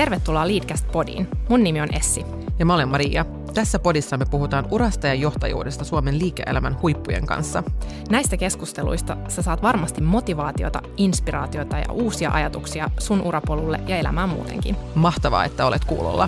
Tervetuloa Leadcast-podiin. Mun nimi on Essi. Ja mä olen Maria. Tässä podissa me puhutaan urasta ja johtajuudesta Suomen liike-elämän huippujen kanssa. Näistä keskusteluista sä saat varmasti motivaatiota, inspiraatiota ja uusia ajatuksia sun urapolulle ja elämään muutenkin. Mahtavaa, että olet kuulolla.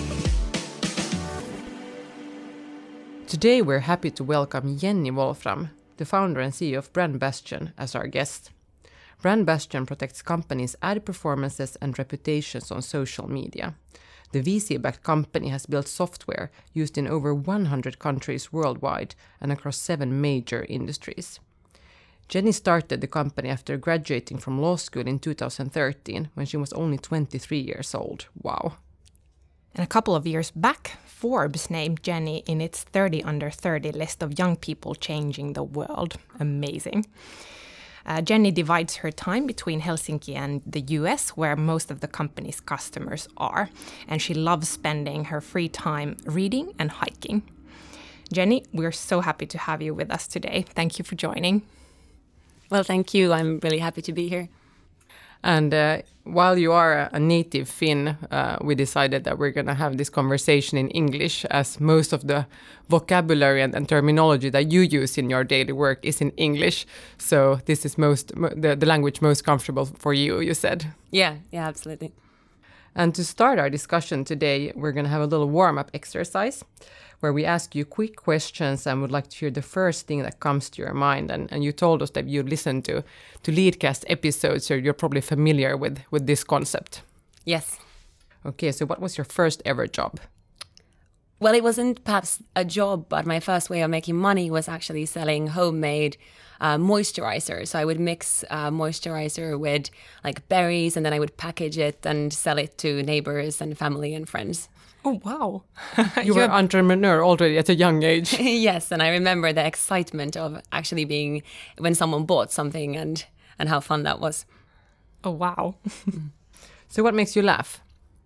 Today we're happy to welcome Jenny Wolfram, the founder and CEO of Brand Bastion, as our guest. Brand Bastion protects companies' ad performances and reputations on social media. The VC-backed company has built software used in over 100 countries worldwide and across 7 major industries. Jenny started the company after graduating from law school in 2013 when she was only 23 years old. Wow. And a couple of years back, Forbes named Jenny in its 30 under 30 list of young people changing the world. Amazing. Jenny divides her time between Helsinki and the US, where most of the company's customers are, and she loves spending her free time reading and hiking. Jenny, we're so happy to have you with us today. Thank you for joining. Well, thank you. I'm really happy to be here. And while you are a native Finn, we decided that we're going to have this conversation in English, as most of the vocabulary and terminology that you use in your daily work is in English. So this is the language most comfortable for you, you said. Yeah, absolutely. And to start our discussion today, we're going to have a little warm-up exercise where we ask you quick questions and would like to hear the first thing that comes to your mind. And you told us that you listen to Leadcast episodes, so you're probably familiar with this concept. Yes. Okay, so what was your first ever job? Well, it wasn't perhaps a job, but my first way of making money was actually selling homemade moisturizer. So I would mix moisturizer with like berries, and then I would package it and sell it to neighbors and family and friends. Oh, wow. You were an entrepreneur already at a young age. Yes, and I remember the excitement of actually being when someone bought something and how fun that was. Oh, wow. So what makes you laugh?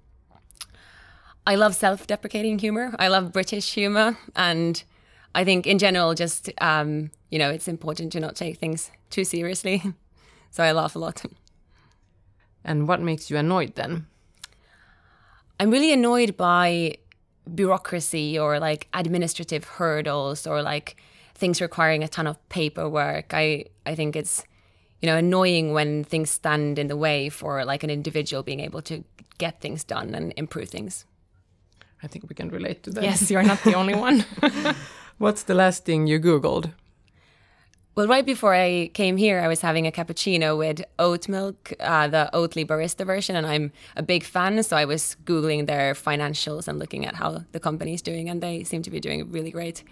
I love self-deprecating humor. I love British humor. And I think in general, just, it's important to not take things too seriously. So I laugh a lot. And what makes you annoyed then? I'm really annoyed by bureaucracy or like administrative hurdles or like things requiring a ton of paperwork. I think it's, annoying when things stand in the way for like an individual being able to get things done and improve things. I think we can relate to that. Yes, you're not the only one. What's the last thing you Googled? Well, right before I came here, I was having a cappuccino with oat milk, the Oatly barista version, and I'm a big fan. So I was Googling their financials and looking at how the company's doing, and they seem to be doing really great.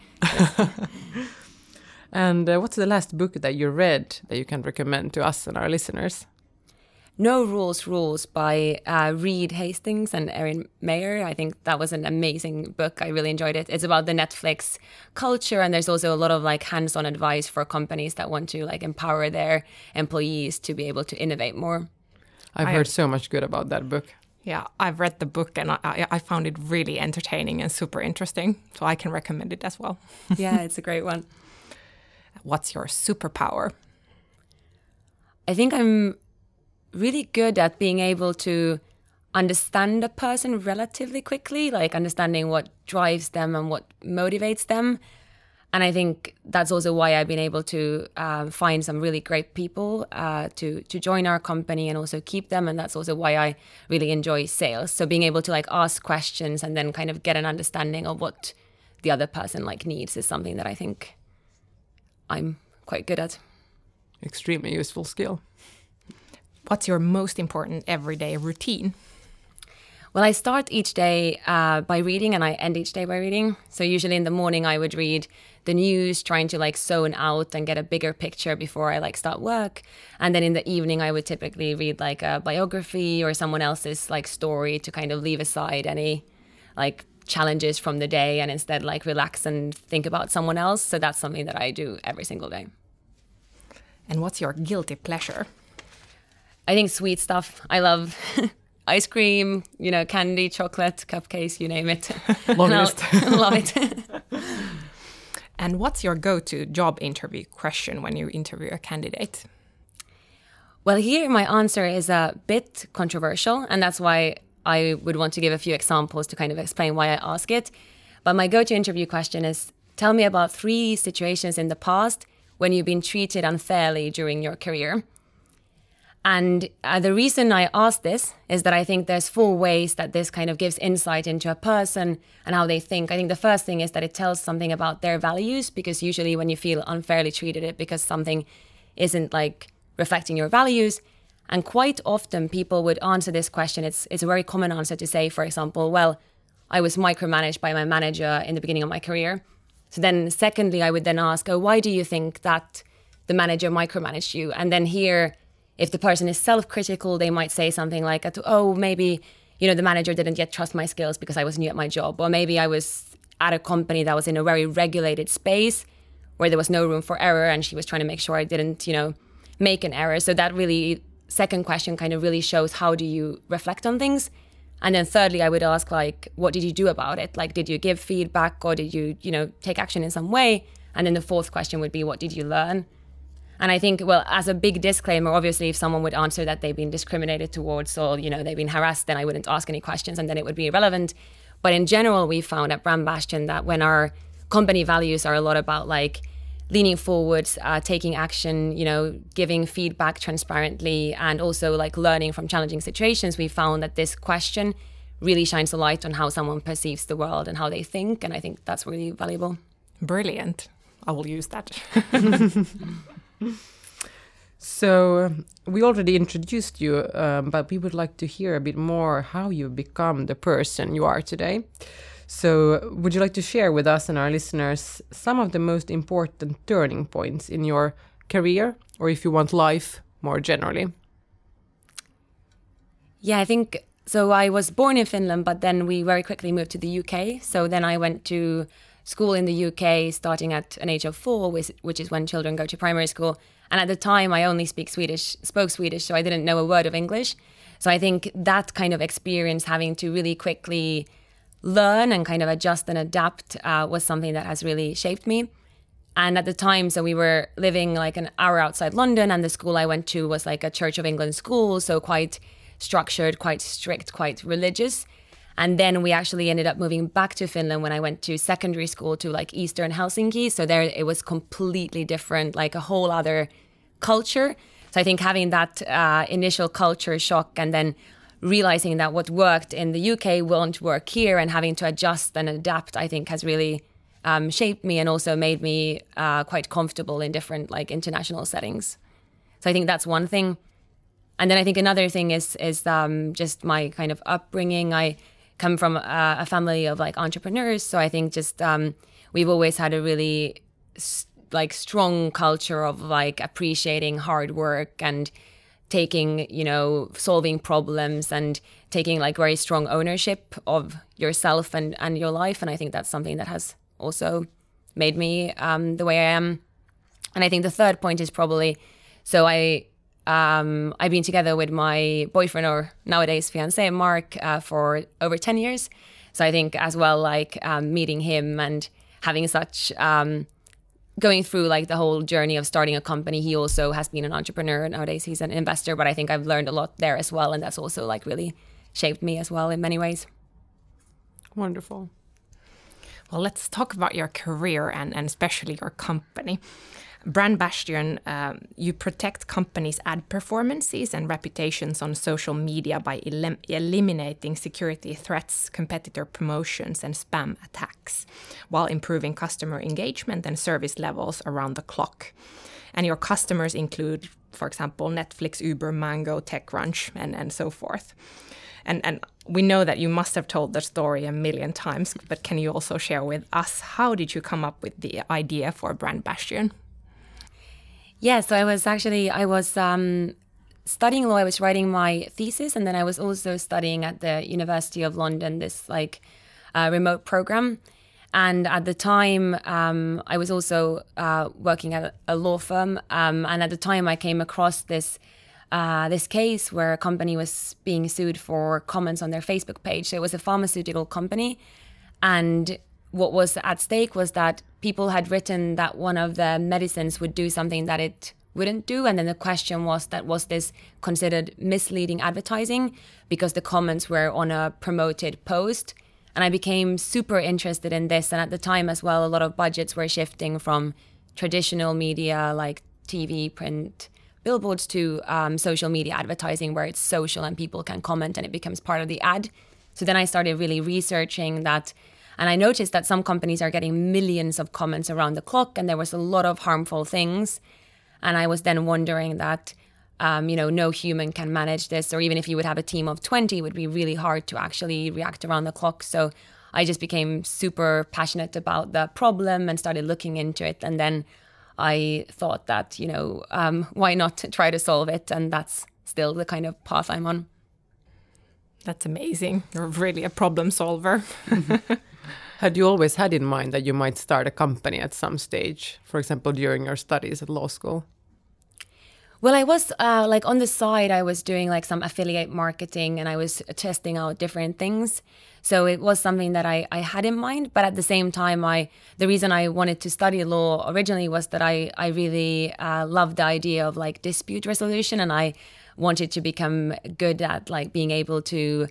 And what's the last book that you read that you can recommend to us and our listeners? No Rules by Reed Hastings and Erin Meyer. I think that was an amazing book. I really enjoyed it. It's about the Netflix culture, and there's also a lot of like hands-on advice for companies that want to like empower their employees to be able to innovate more. I've heard so much good about that book. Yeah, I've read the book and I found it really entertaining and super interesting. So I can recommend it as well. Yeah, it's a great one. What's your superpower? I think I'm really good at being able to understand a person relatively quickly, like understanding what drives them and what motivates them. And I think that's also why I've been able to find some really great people to join our company and also keep them. And that's also why I really enjoy sales. So being able to like ask questions and then kind of get an understanding of what the other person like needs is something that I think I'm quite good at. Extremely useful skill. What's your most important everyday routine? Well, I start each day by reading and I end each day by reading. So usually in the morning I would read the news, trying to like zone out and get a bigger picture before I like start work. And then in the evening I would typically read like a biography or someone else's like story to kind of leave aside any like challenges from the day and instead like relax and think about someone else. So that's something that I do every single day. And what's your guilty pleasure? I think sweet stuff. I love ice cream, candy, chocolate, cupcakes, you name it. Long list. Love it. And what's your go-to job interview question when you interview a candidate? Well, here my answer is a bit controversial, and that's why I would want to give a few examples to kind of explain why I ask it. But my go-to interview question is, tell me about 3 situations in the past when you've been treated unfairly during your career. And the reason I ask this is that I think there's 4 ways that this kind of gives insight into a person and how they think. I think the first thing is that it tells something about their values, because usually when you feel unfairly treated, it's because something isn't like reflecting your values. And quite often people would answer this question. It's a very common answer to say, for example, well, I was micromanaged by my manager in the beginning of my career. So then secondly, I would then ask, oh, why do you think that the manager micromanaged you? And then here, if the person is self-critical, they might say something like, oh, maybe, the manager didn't yet trust my skills because I was new at my job. Or maybe I was at a company that was in a very regulated space where there was no room for error, and she was trying to make sure I didn't, make an error. So that really, second question kind of really shows how do you reflect on things. And then thirdly, I would ask, like, what did you do about it? Like, did you give feedback, or did you, take action in some way? And then the fourth question would be, what did you learn? And I think, well, as a big disclaimer, obviously, if someone would answer that they've been discriminated towards or, they've been harassed, then I wouldn't ask any questions and then it would be irrelevant. But in general, we found at Brand Bastion that when our company values are a lot about like leaning forward, taking action, giving feedback transparently, and also like learning from challenging situations, we found that this question really shines a light on how someone perceives the world and how they think. And I think that's really valuable. Brilliant. I will use that. So we already introduced you, but we would like to hear a bit more how you become the person you are today. So would you like to share with us and our listeners some of the most important turning points in your career, or if you want life more generally? Yeah, I think so. I was born in Finland, but then we very quickly moved to the UK. So then I went to school in the UK starting at an age of 4, which is when children go to primary school. And at the time, I only spoke Swedish, so I didn't know a word of English. So I think that kind of experience, having to really quickly learn and kind of adjust and adapt, was something that has really shaped me. And at the time, so we were living like an hour outside London, and the school I went to was like a Church of England school, so quite structured, quite strict, quite religious. And then we actually ended up moving back to Finland when I went to secondary school to like Eastern Helsinki. So there it was completely different, like a whole other culture. So I think having that initial culture shock and then realizing that what worked in the UK won't work here and having to adjust and adapt, I think has really shaped me and also made me quite comfortable in different like international settings. So I think that's one thing. And then I think another thing is just my kind of upbringing. I come from a family of like entrepreneurs, so I think just we've always had a really like strong culture of like appreciating hard work and taking, solving problems and taking like very strong ownership of yourself and your life. And I think that's something that has also made me the way I am. And I think the third point is probably, so I've been together with my boyfriend, or nowadays fiancé, Mark, for over 10 years. So I think as well, like meeting him and having such, going through like the whole journey of starting a company. He also has been an entrepreneur. Nowadays he's an investor, but I think I've learned a lot there as well. And that's also like really shaped me as well in many ways. Wonderful. Well, let's talk about your career and especially your company. Brand Bastion, you protect companies' ad performances and reputations on social media by eliminating security threats, competitor promotions, and spam attacks, while improving customer engagement and service levels around the clock. And your customers include, for example, Netflix, Uber, Mango, TechCrunch, and so forth. And we know that you must have told the story a million times, but can you also share with us, how did you come up with the idea for Brand Bastion? Yeah, so I was studying law. I was writing my thesis, and then I was also studying at the University of London, this like remote program. And at the time, I was also working at a law firm. And at the time, I came across this case where a company was being sued for comments on their Facebook page. So it was a pharmaceutical company, and what was at stake was that people had written that one of the medicines would do something that it wouldn't do. And then the question was this considered misleading advertising because the comments were on a promoted post? And I became super interested in this. And at the time as well, a lot of budgets were shifting from traditional media like TV, print, billboards to social media advertising, where it's social and people can comment and it becomes part of the ad. So then I started really researching that. And I noticed that some companies are getting millions of comments around the clock, and there was a lot of harmful things. And I was then wondering that, no human can manage this, or even if you would have a team of 20, it would be really hard to actually react around the clock. So I just became super passionate about the problem and started looking into it. And then I thought that, why not try to solve it? And that's still the kind of path I'm on. That's amazing. You're really a problem solver. Had you always had in mind that you might start a company at some stage, for example, during your studies at law school? Well, I was on the side, I was doing like some affiliate marketing and I was testing out different things. So it was something that I had in mind. But at the same time, the reason I wanted to study law originally was that I really loved the idea of like dispute resolution, and I wanted to become good at like being able to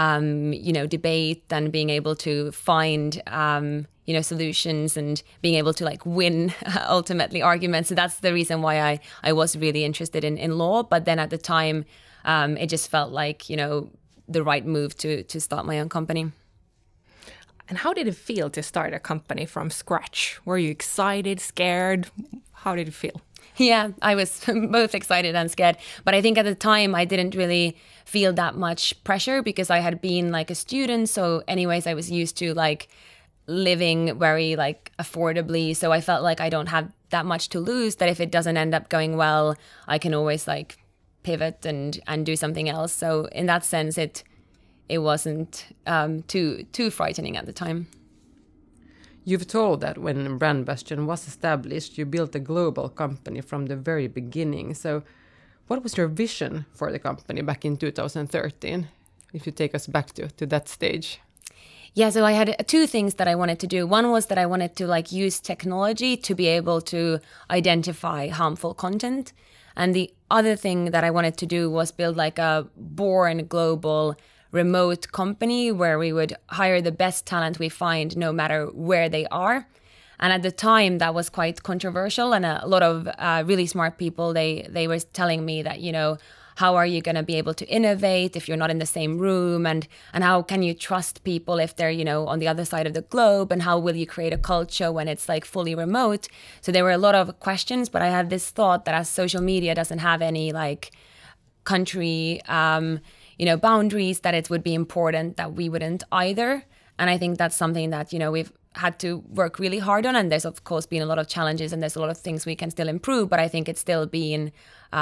debate and being able to find, solutions and being able to like win ultimately arguments. So that's the reason why I was really interested in law. But then at the time, it just felt like, the right move to start my own company. And how did it feel to start a company from scratch? Were you excited, scared? How did it feel? Yeah, I was both excited and scared. But I think at the time I didn't really feel that much pressure because I had been like a student. So anyways, I was used to like living very like affordably. So I felt like I don't have that much to lose, that if it doesn't end up going well, I can always like pivot and do something else. So in that sense, it wasn't too frightening at the time. You've told that when Brand Bastion was established, you built a global company from the very beginning. So what was your vision for the company back in 2013, if you take us back to that stage? Yeah, so I had two things that I wanted to do. One was that I wanted to like use technology to be able to identify harmful content. And the other thing that I wanted to do was build like a born global remote company where we would hire the best talent we find no matter where they are. And at the time that was quite controversial, and a lot of really smart people, they were telling me that, how are you going to be able to innovate if you're not in the same room, and how can you trust people if they're, on the other side of the globe, and how will you create a culture when it's like fully remote? So there were a lot of questions, but I had this thought that as social media doesn't have any like country boundaries, that it would be important that we wouldn't either. And I think that's something that, we've had to work really hard on. And there's, of course, been a lot of challenges and there's a lot of things we can still improve. But I think it's still been,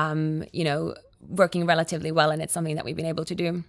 working relatively well. And it's something that we've been able to do.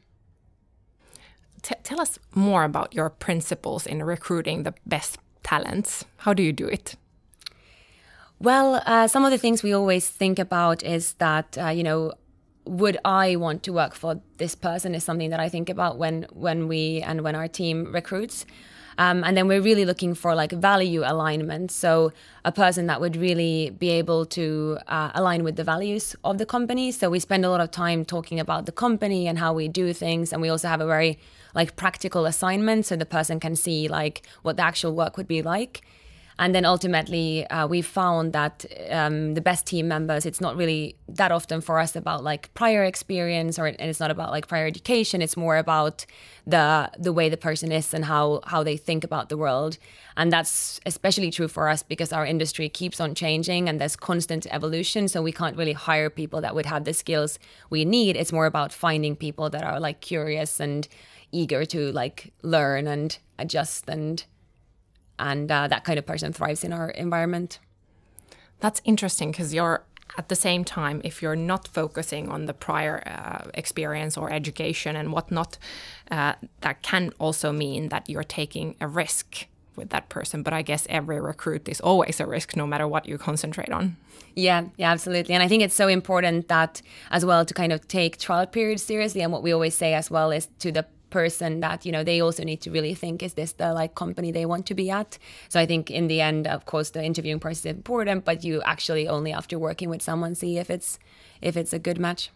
Tell us more about your principles in recruiting the best talents. How do you do it? Well, some of the things we always think about is that, would I want to work for this person is something that I think about when our team recruits. And then we're really looking for like value alignment. So a person that would really be able to align with the values of the company. So we spend a lot of time talking about the company and how we do things. And we also have a very like practical assignment so the person can see like what the actual work would be like. And then ultimately, we found that the best team members, it's not really that often for us about like prior experience, and it's not about like prior education. It's more about the way the person is and how they think about the world. And that's especially true for us because our industry keeps on changing and there's constant evolution. So we can't really hire people that would have the skills we need. It's more about finding people that are like curious and eager to like learn and adjust, and that kind of person thrives in our environment. That's interesting because you're at the same time, if you're not focusing on the prior experience or education and whatnot, that can also mean that you're taking a risk with that person. But I guess every recruit is always a risk no matter what you concentrate on. Yeah, absolutely. And I think it's so important that as well to kind of take trial periods seriously. And what we always say as well is to the person that, you know, they also need to really think, is this the like company they want to be at? So I think in the end, of course, the interviewing process is important, but you actually only after working with someone see if it's a good match.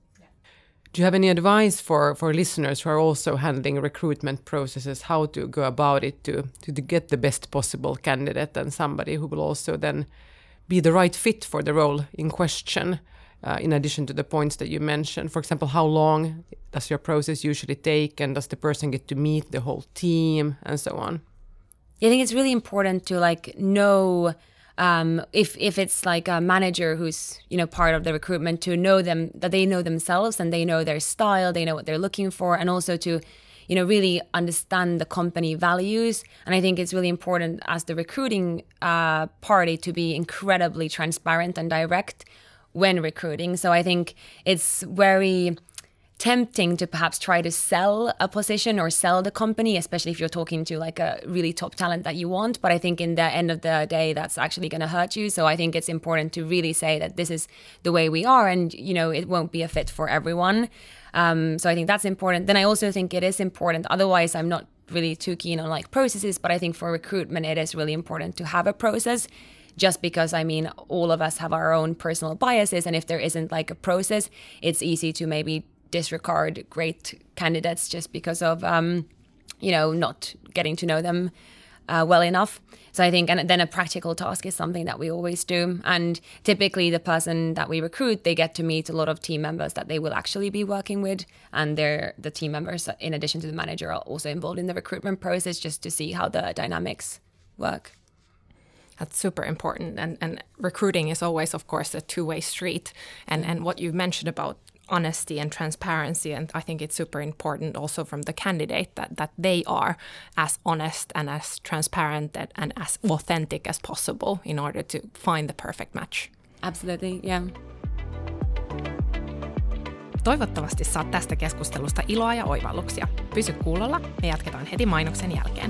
Do you have any advice for listeners who are also handling recruitment processes, how to go about it to get the best possible candidate and somebody who will also then be the right fit for the role in question, in addition to the points that you mentioned? For example, how long does your process usually take, and does the person get to meet the whole team and so on? I think it's really important to like know if it's like a manager who's, you know, part of the recruitment, to know them, that they know themselves and they know their style, they know what they're looking for, and also to, you know, really understand the company values. And I think it's really important as the recruiting party to be incredibly transparent and direct when recruiting. So I think it's very tempting to perhaps try to sell a position or sell the company, especially if you're talking to like a really top talent that you want. But I think in the end of the day, that's actually going to hurt you. So I think it's important to really say that this is the way we are, and, you know, it won't be a fit for everyone. So I think that's important. Then I also think it is important. Otherwise, I'm not really too keen on like processes, but I think for recruitment, it is really important to have a process. Just because, I mean, all of us have our own personal biases. And if there isn't like a process, it's easy to maybe disregard great candidates just because of, you know, not getting to know them well enough. So I think, and then a practical task is something that we always do. And typically the person that we recruit, they get to meet a lot of team members that they will actually be working with. And the team members, in addition to the manager, are also involved in the recruitment process just to see how the dynamics work. That's super important. And recruiting is always, of course, a two-way street. And what you mentioned about honesty and transparency, and I think it's super important also from the candidate that they are as honest and as transparent and as authentic as possible in order to find the perfect match. Absolutely, yeah. Toivottavasti saat tästä keskustelusta iloa ja oivalluksia. Pysy kuulolla, me jatketaan heti mainoksen jälkeen.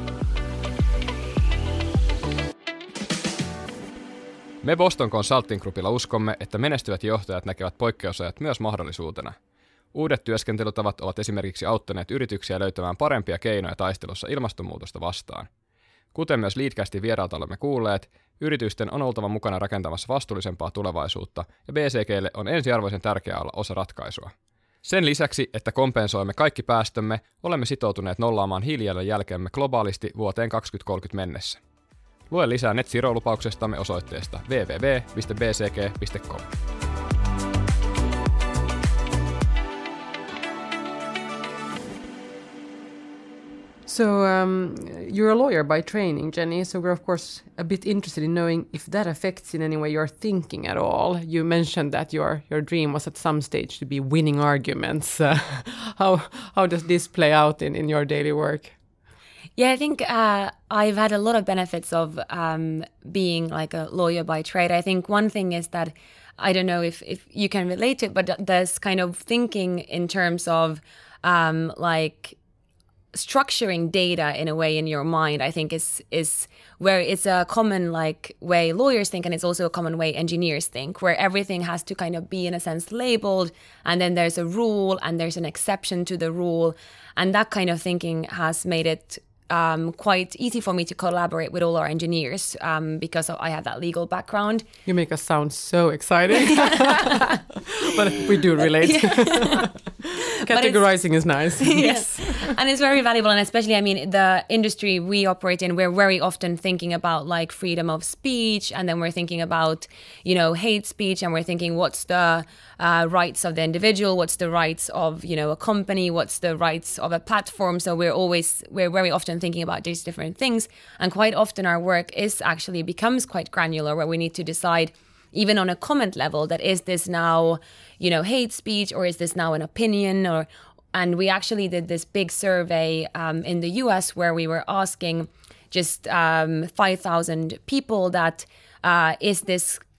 Me Boston Consulting Groupilla uskomme, että menestyvät johtajat näkevät poikkeusajat myös mahdollisuutena. Uudet työskentelytavat ovat esimerkiksi auttaneet yrityksiä löytämään parempia keinoja taistelussa ilmastonmuutosta vastaan. Kuten myös Leadcastin vierailta olemme kuulleet, yritysten on oltava mukana rakentamassa vastuullisempaa tulevaisuutta, ja BCGlle on ensiarvoisen tärkeää olla osa ratkaisua. Sen lisäksi, että kompensoimme kaikki päästömme, olemme sitoutuneet nollaamaan hiilijalanjälkemme globaalisti vuoteen 2030 mennessä. Lue lisää Net Zero-lupauksestamme osoitteesta www.bcg.com. So you're a lawyer by training, Jenny, so we're of course a bit interested in knowing if that affects in any way your thinking at all. You mentioned that your dream was at some stage to be winning arguments. How does this play out in your daily work? Yeah, I think I've had a lot of benefits of being like a lawyer by trade. I think one thing is that, I don't know if you can relate to it, but there's kind of thinking in terms of like structuring data in a way in your mind, I think is where it's a common like way lawyers think, and it's also a common way engineers think, where everything has to kind of be in a sense labeled, and then there's a rule and there's an exception to the rule, and that kind of thinking has made it quite easy for me to collaborate with all our engineers because I have that legal background. You make us sound so exciting, but we do relate. Categorizing is nice. Yes, and it's very valuable, and especially, I mean, the industry we operate in, we're very often thinking about like freedom of speech, and then we're thinking about, you know, hate speech, and we're thinking what's the rights of the individual, what's the rights of, you know, a company, what's the rights of a platform. So we're very often thinking about these different things, and quite often our work becomes quite granular, where we need to decide, even on a comment level, that is this now, you know, hate speech, or is this now an opinion? And we actually did this big survey in the US where we were asking just 5,000 people that is this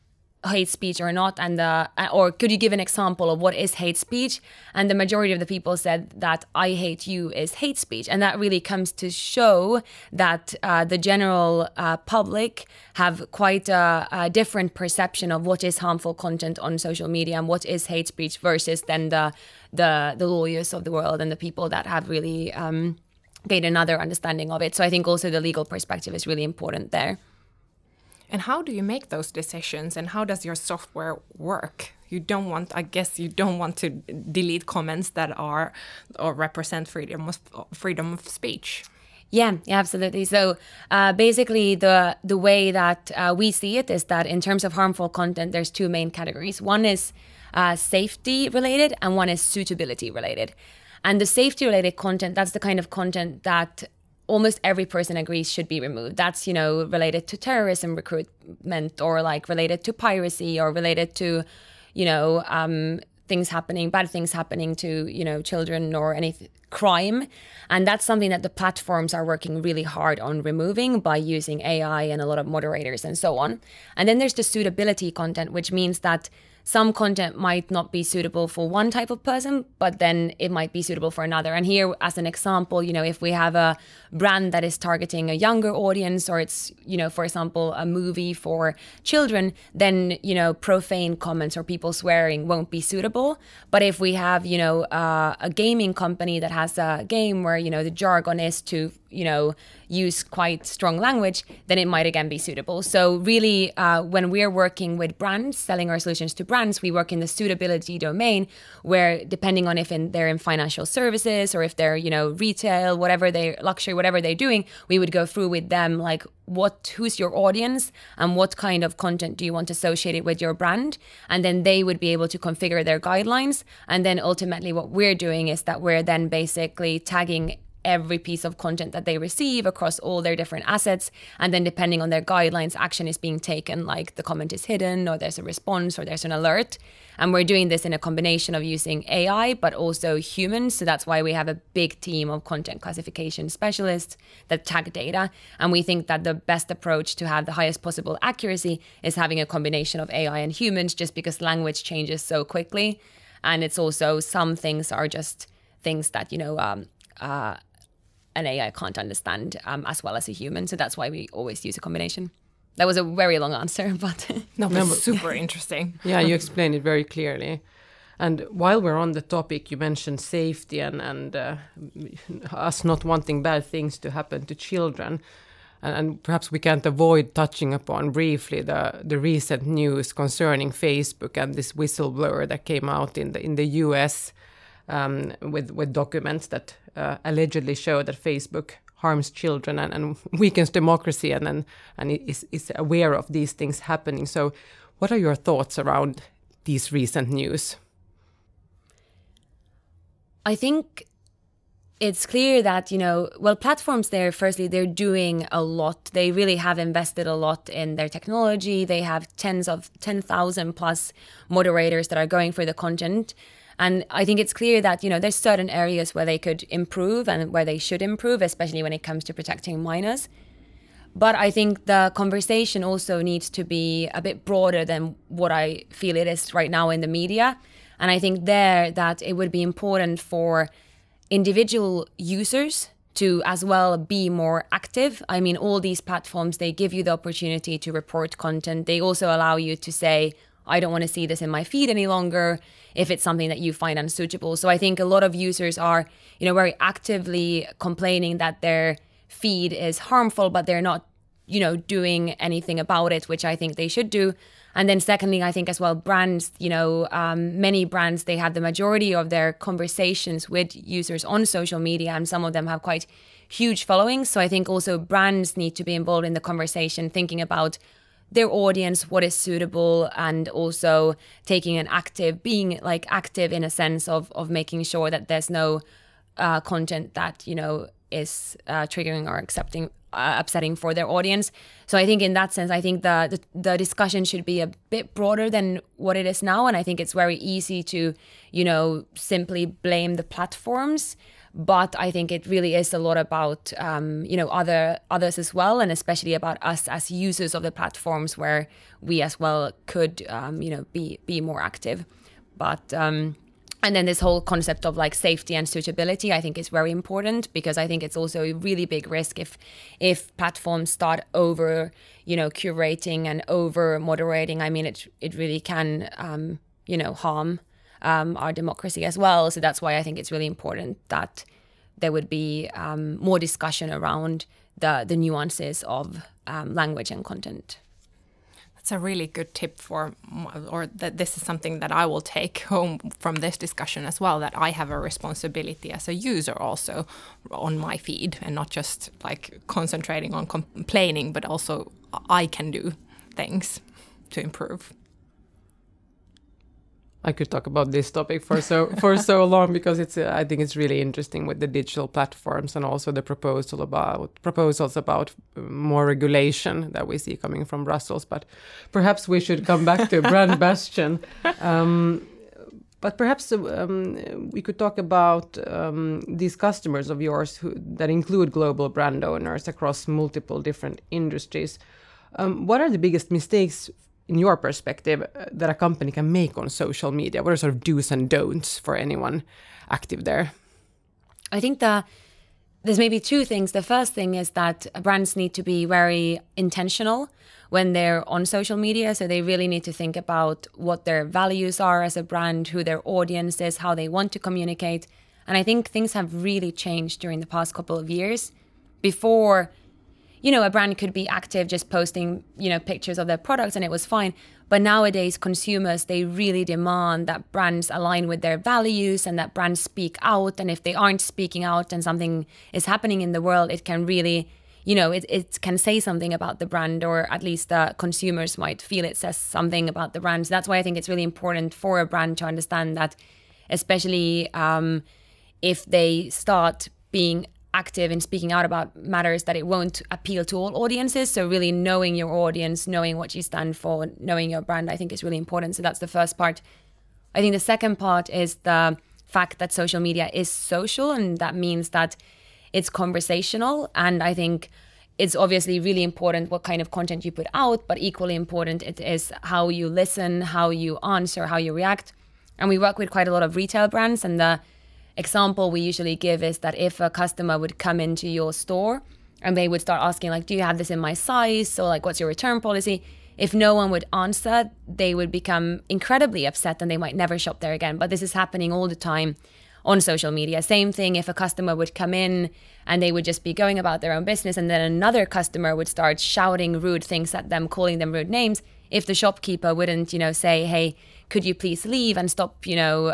hate speech or not, and or could you give an example of what is hate speech? And the majority of the people said that I hate you is hate speech, and that really comes to show that the general public have quite a different perception of what is harmful content on social media and what is hate speech versus then the lawyers of the world and the people that have really gained another understanding of it. So I think also the legal perspective is really important there. And how do you make those decisions, and how does your software work? You don't want to delete comments that are or represent freedom of speech. Yeah, absolutely. So basically the way that we see it is that in terms of harmful content, there's two main categories. One is safety related and one is suitability related. And the safety related content, that's the kind of content that almost every person agrees should be removed. That's, related to terrorism recruitment or like related to piracy or related to, bad things happening to, children or any crime. And that's something that the platforms are working really hard on removing by using AI and a lot of moderators and so on. And then there's the suitability content, which means that some content might not be suitable for one type of person, but then it might be suitable for another. And here, as an example, if we have a brand that is targeting a younger audience, or it's, for example, a movie for children, then, profane comments or people swearing won't be suitable. But if we have, a gaming company that has a game where, the jargon is to, use quite strong language, then it might again be suitable. So really, when we're working with brands, selling our solutions to brands, we work in the suitability domain, where depending on if they're in financial services or if they're, retail, luxury, whatever they're doing, we would go through with them like who's your audience and what kind of content do you want associated with your brand, and then they would be able to configure their guidelines. And then ultimately what we're doing is that we're then basically tagging every piece of content that they receive across all their different assets. And then depending on their guidelines, action is being taken, like the comment is hidden or there's a response or there's an alert. And we're doing this in a combination of using AI, but also humans. So that's why we have a big team of content classification specialists that tag data. And we think that the best approach to have the highest possible accuracy is having a combination of AI and humans, just because language changes so quickly. And it's also, some things are just things that, an AI can't understand as well as a human. So that's why we always use a combination. That was a very long answer, but... No, but super interesting. Yeah, you explained it very clearly. And while we're on the topic, you mentioned safety and us not wanting bad things to happen to children. And perhaps we can't avoid touching upon briefly the recent news concerning Facebook and this whistleblower that came out in the US with documents that allegedly show that Facebook harms children and weakens democracy and is aware of these things happening. So what are your thoughts around these recent news? I think it's clear that, platforms there, firstly, they're doing a lot. They really have invested a lot in their technology. They have 10,000 plus moderators that are going for the content. And I think it's clear that, there's certain areas where they could improve and where they should improve, especially when it comes to protecting minors. But I think the conversation also needs to be a bit broader than what I feel it is right now in the media. And I think that it would be important for individual users to as well be more active. I mean, all these platforms, they give you the opportunity to report content. They also allow you to say, I don't want to see this in my feed any longer if it's something that you find unsuitable. So I think a lot of users are, very actively complaining that their feed is harmful, but they're not, doing anything about it, which I think they should do. And then secondly, I think as well, brands, many brands, they have the majority of their conversations with users on social media, and some of them have quite huge followings. So I think also brands need to be involved in the conversation, thinking about their audience, what is suitable, and also taking being active in a sense of making sure that there's no content that, is triggering or upsetting for their audience. So I think in that sense, I think the discussion should be a bit broader than what it is now. And I think it's very easy to, simply blame the platforms. But I think it really is a lot about others as well, and especially about us as users of the platforms, where we as well could be more active. But and then this whole concept of like safety and suitability, I think, is very important, because I think it's also a really big risk if platforms start over curating and over moderating. I mean, it really can harm our democracy as well. So that's why I think it's really important that there would be more discussion around the nuances of language and content. That's a really good tip that this is something that I will take home from this discussion as well, that I have a responsibility as a user also on my feed, and not just like concentrating on complaining, but also I can do things to improve. I could talk about this topic for so long, because I think it's really interesting with the digital platforms, and also the proposals about more regulation that we see coming from Brussels. But perhaps we should come back to Brand Bastion. But perhaps we could talk about these customers of yours that include global brand owners across multiple different industries. What are the biggest mistakes, in your perspective, that a company can make on social media? What are sort of do's and don'ts for anyone active there? I think there's maybe two things. The first thing is that brands need to be very intentional when they're on social media. So they really need to think about what their values are as a brand, who their audience is, how they want to communicate. And I think things have really changed during the past couple of years. Before, a brand could be active just posting, pictures of their products, and it was fine. But nowadays, consumers, they really demand that brands align with their values and that brands speak out. And if they aren't speaking out and something is happening in the world, it can really, it can say something about the brand, or at least the consumers might feel it says something about the brand. So that's why I think it's really important for a brand to understand that, especially if they start being active in speaking out about matters, that it won't appeal to all audiences. So really knowing your audience, knowing what you stand for, knowing your brand, I think is really important. So that's the first part. I think the second part is the fact that social media is social, and that means that it's conversational. And I think it's obviously really important what kind of content you put out, but equally important it is how you listen, how you answer, how you react. And we work with quite a lot of retail brands, and the example we usually give is that if a customer would come into your store and they would start asking, like, do you have this in my size? So like, what's your return policy? If no one would answer, they would become incredibly upset and they might never shop there again. But this is happening all the time on social media. Same thing if a customer would come in and they would just be going about their own business, and then another customer would start shouting rude things at them, calling them rude names. If the shopkeeper wouldn't, say, hey, could you please leave and stop,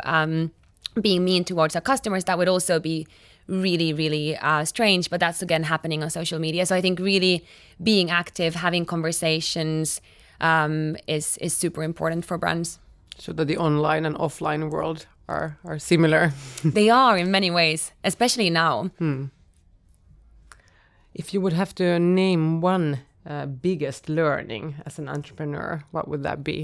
being mean towards our customers, that would also be really, really strange. But that's, again, happening on social media. So I think really being active, having conversations is super important for brands. So that the online and offline world are similar. They are in many ways, especially now. If you would have to name one biggest learning as an entrepreneur, what would that be?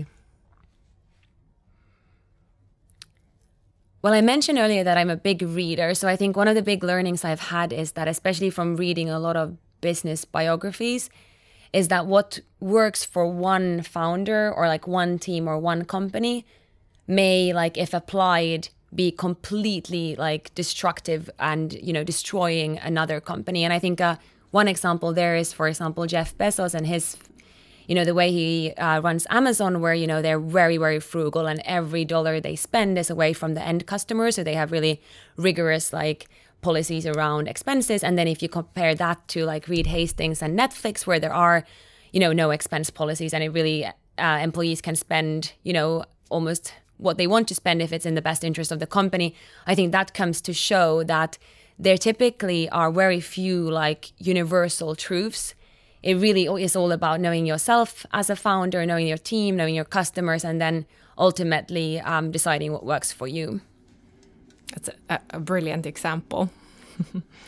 Well, I mentioned earlier that I'm a big reader. So I think one of the big learnings I've had is that, especially from reading a lot of business biographies, is that what works for one founder or like one team or one company may, like, if applied, be completely like destructive and, destroying another company. And I think one example there is, for example, Jeff Bezos and his, the way he runs Amazon, where, they're very, very frugal, and every dollar they spend is away from the end customer. So they have really rigorous like policies around expenses. And then if you compare that to like Reed Hastings and Netflix, where there are, no expense policies, and it really employees can spend, almost what they want to spend if it's in the best interest of the company. I think that comes to show that there typically are very few like universal truths. It really is all about knowing yourself as a founder, knowing your team, knowing your customers, and then ultimately deciding what works for you. That's a brilliant example.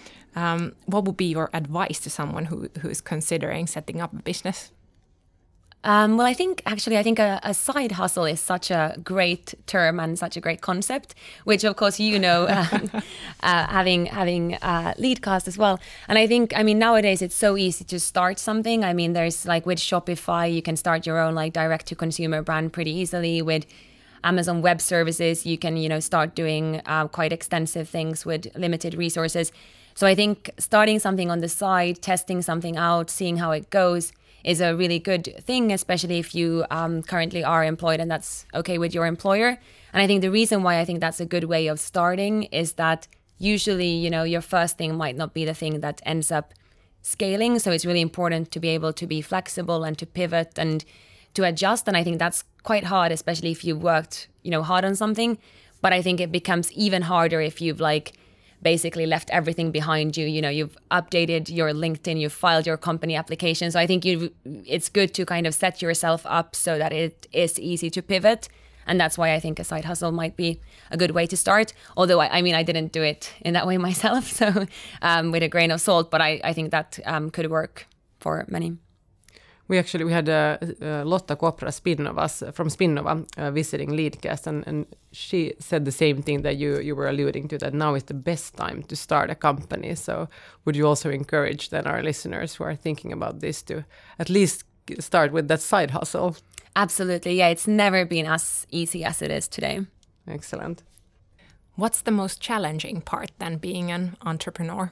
What would be your advice to someone who is considering setting up a business? Well, I think a side hustle is such a great term and such a great concept, which of course having Leadcast as well. And I think, nowadays it's so easy to start something. I mean, there's like with Shopify, you can start your own like direct to consumer brand pretty easily. With Amazon Web Services, you can start doing quite extensive things with limited resources. So I think starting something on the side, testing something out, seeing how it goes is a really good thing, especially if you currently are employed and that's okay with your employer. And I think the reason why I think that's a good way of starting is that usually, your first thing might not be the thing that ends up scaling. So it's really important to be able to be flexible and to pivot and to adjust. And I think that's quite hard, especially if you've worked, hard on something. But I think it becomes even harder if you've basically left everything behind you. You've updated your LinkedIn, you've filed your company application. So I think it's good to kind of set yourself up so that it is easy to pivot. And that's why I think a side hustle might be a good way to start. Although, I didn't do it in that way myself, so with a grain of salt, but I think that could work for many. We had Lotta Kopra from Spinnova visiting Leadcast, and she said the same thing that you were alluding to, that now is the best time to start a company. So would you also encourage then our listeners who are thinking about this to at least start with that side hustle? Absolutely. Yeah, it's never been as easy as it is today. Excellent. What's the most challenging part then being an entrepreneur?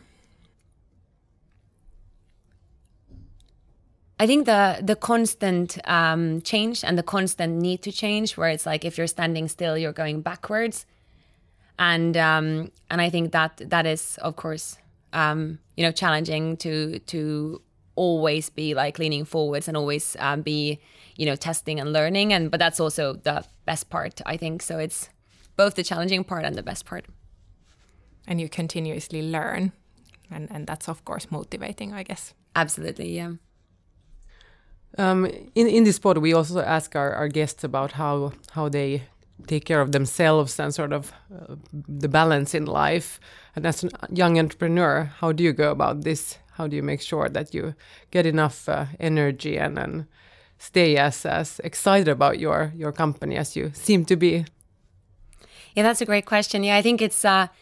I think the constant change and the constant need to change, where it's like if you're standing still, you're going backwards, and I think that is of course challenging to always be like leaning forwards and always be testing and learning, but that's also the best part, I think. So it's both the challenging part and the best part. And you continuously learn, and that's of course motivating, I guess. Absolutely, yeah. In this pod, we also ask our guests about how they take care of themselves and sort of the balance in life. And as a young entrepreneur, how do you go about this? How do you make sure that you get enough energy and stay as excited about your company as you seem to be? Yeah, that's a great question. Yeah, I think it's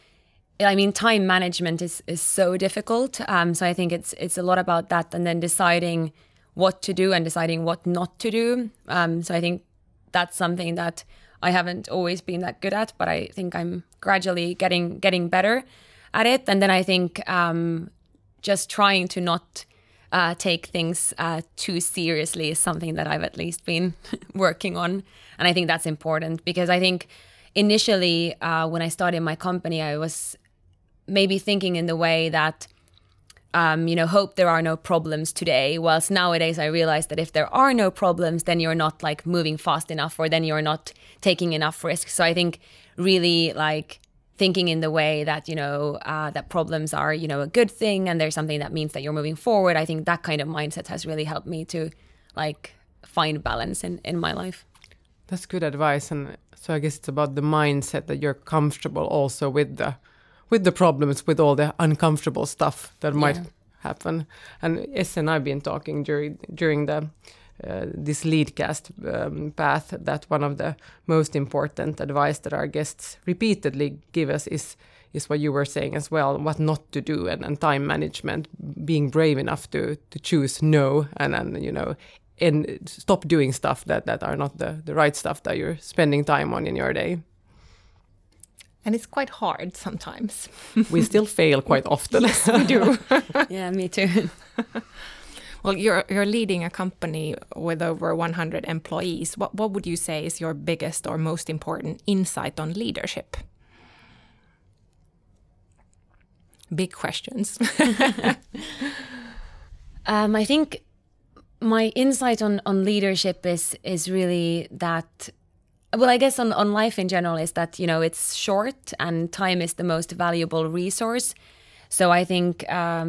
time management is so difficult. So I think it's a lot about that, and then deciding what to do and deciding what not to do. So I think that's something that I haven't always been that good at, but I think I'm gradually getting better at it. And then I think just trying to not take things too seriously is something that I've at least been working on. And I think that's important, because I think initially when I started my company, I was maybe thinking in the way that hope there are no problems today. Whilst nowadays I realize that if there are no problems, then you're not like moving fast enough, or then you're not taking enough risks. So I think really like thinking in the way that, that problems are, a good thing, and there's something that means that you're moving forward. I think that kind of mindset has really helped me to like find balance in my life. That's good advice. And so I guess it's about the mindset that you're comfortable also with the problems, with all the uncomfortable stuff that might happen. And Esse and I've been talking during the this Leadcast path that one of the most important advice that our guests repeatedly give us is what you were saying as well, what not to do, and time management, being brave enough to choose no, and stop doing stuff that are not the right stuff that you're spending time on in your day. And it's quite hard sometimes. We still fail quite often. Yes, we do. Yeah, me too. Well, you're leading a company with over 100 employees. What would you say is your biggest or most important insight on leadership? Big questions. I think my insight on leadership is really that, well, I guess on life in general, is that, it's short and time is the most valuable resource. So I think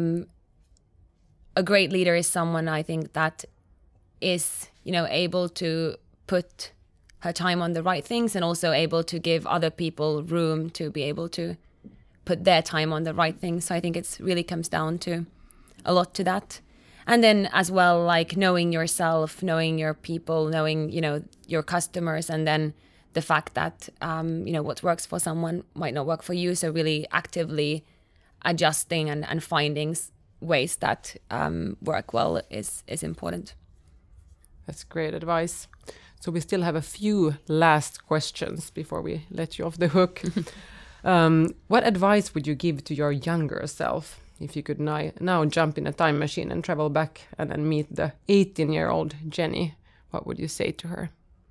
a great leader is someone, I think, that is, able to put her time on the right things, and also able to give other people room to be able to put their time on the right things. So I think it's really comes down to a lot to that. And then as well, like knowing yourself, knowing your people, knowing, your customers, and then the fact that, what works for someone might not work for you. So really actively adjusting and finding ways that work well is important. That's great advice. So we still have a few last questions before we let you off the hook. What advice would you give to your younger self if you could now jump in a time machine and travel back and then meet the 18-year-old Jenny? What would you say to her?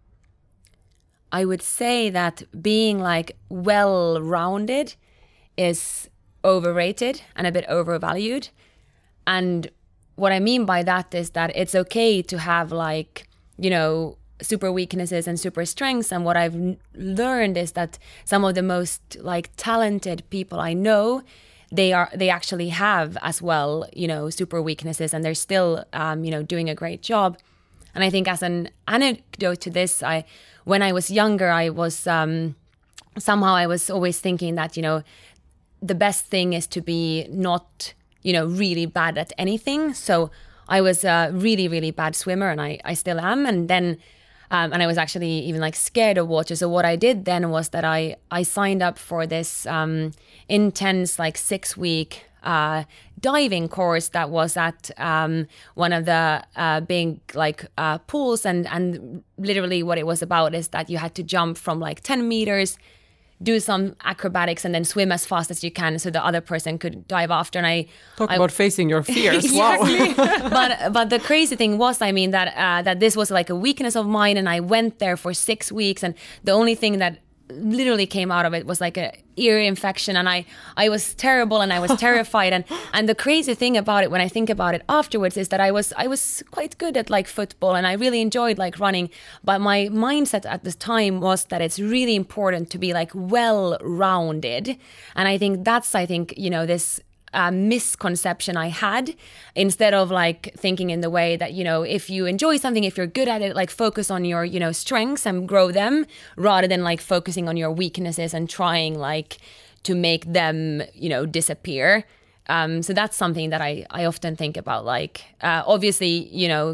I would say that being like well-rounded is overrated and a bit overvalued. And what I mean by that is that it's okay to have like, super weaknesses and super strengths. And what I've learned is that some of the most like talented people I know, they actually have as well, super weaknesses, and they're still, doing a great job. And I think as an anecdote to this, when I was younger, I was somehow I was always thinking that, the best thing is to be not, really bad at anything. So I was a really, really bad swimmer, and I still am. And then, and I was actually even like scared of water. So what I did then was that I signed up for this intense like 6-week diving course that was at one of the big like pools, and literally what it was about is that you had to jump from like 10 meters, do some acrobatics, and then swim as fast as you can so the other person could dive after. And I talk about facing your fears. Wow. but the crazy thing was, that this was like a weakness of mine, and I went there for 6 weeks, and the only thing that literally came out of it was like a ear infection, and I was terrible, and I was terrified. And the crazy thing about it, when I think about it afterwards, is that I was quite good at like football, and I really enjoyed like running, but my mindset at the time was that it's really important to be like well-rounded. And I think that's this misconception I had, instead of like thinking in the way that, if you enjoy something, if you're good at it, like focus on your, strengths and grow them, rather than like focusing on your weaknesses and trying like to make them, disappear. So that's something that I often think about. Like, obviously,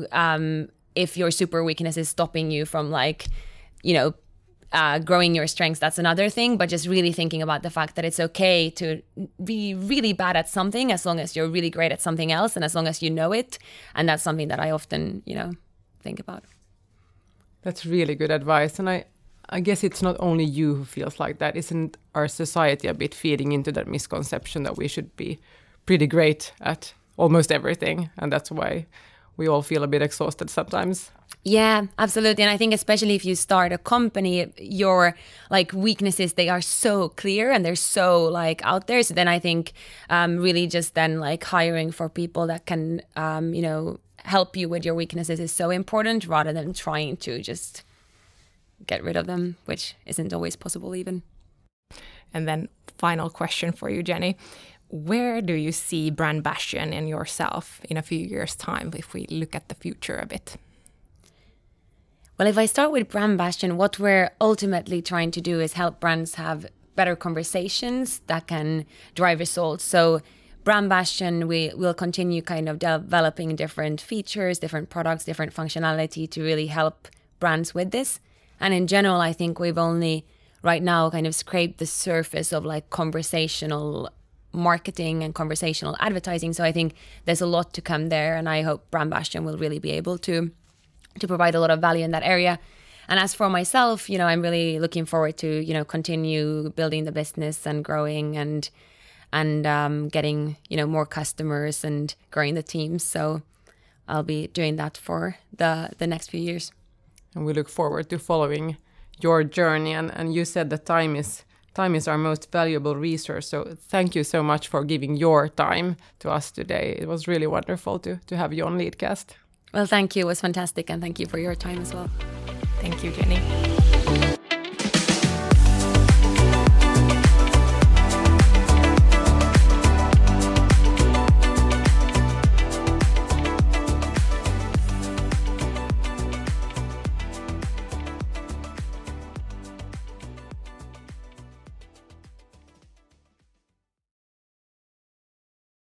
if your super weakness is stopping you from like, growing your strengths, that's another thing. But just really thinking about the fact that it's okay to be really bad at something as long as you're really great at something else, and as long as you know it. And that's something that I often, think about. That's really good advice. And I guess it's not only you who feels like that. Isn't our society a bit feeding into that misconception that we should be pretty great at almost everything? And that's why we all feel a bit exhausted sometimes. Yeah, absolutely. And I think especially if you start a company, your like weaknesses, they are so clear and they're so like out there. So then I think really just then like hiring for people that can, help you with your weaknesses is so important, rather than trying to just get rid of them, which isn't always possible even. And then final question for you, Jenny. Where do you see Brand Bastion and yourself in a few years' time if we look at the future a bit? Well, if I start with Brand Bastion, what we're ultimately trying to do is help brands have better conversations that can drive results. So Brand Bastion, we will continue kind of developing different features, different products, different functionality to really help brands with this. And in general, I think we've only right now kind of scraped the surface of like conversational marketing and conversational advertising. So I think there's a lot to come there, and I hope Brand Bastion will really be able to provide a lot of value in that area. And as for myself, I'm really looking forward to, continue building the business and growing and getting, more customers and growing the teams. So I'll be doing that for the next few years. And we look forward to following your journey. And you said that time is our most valuable resource. So thank you so much for giving your time to us today. It was really wonderful to have you on Leadcast. Well, thank you. It was fantastic. And thank you for your time as well. Thank you, Jenny.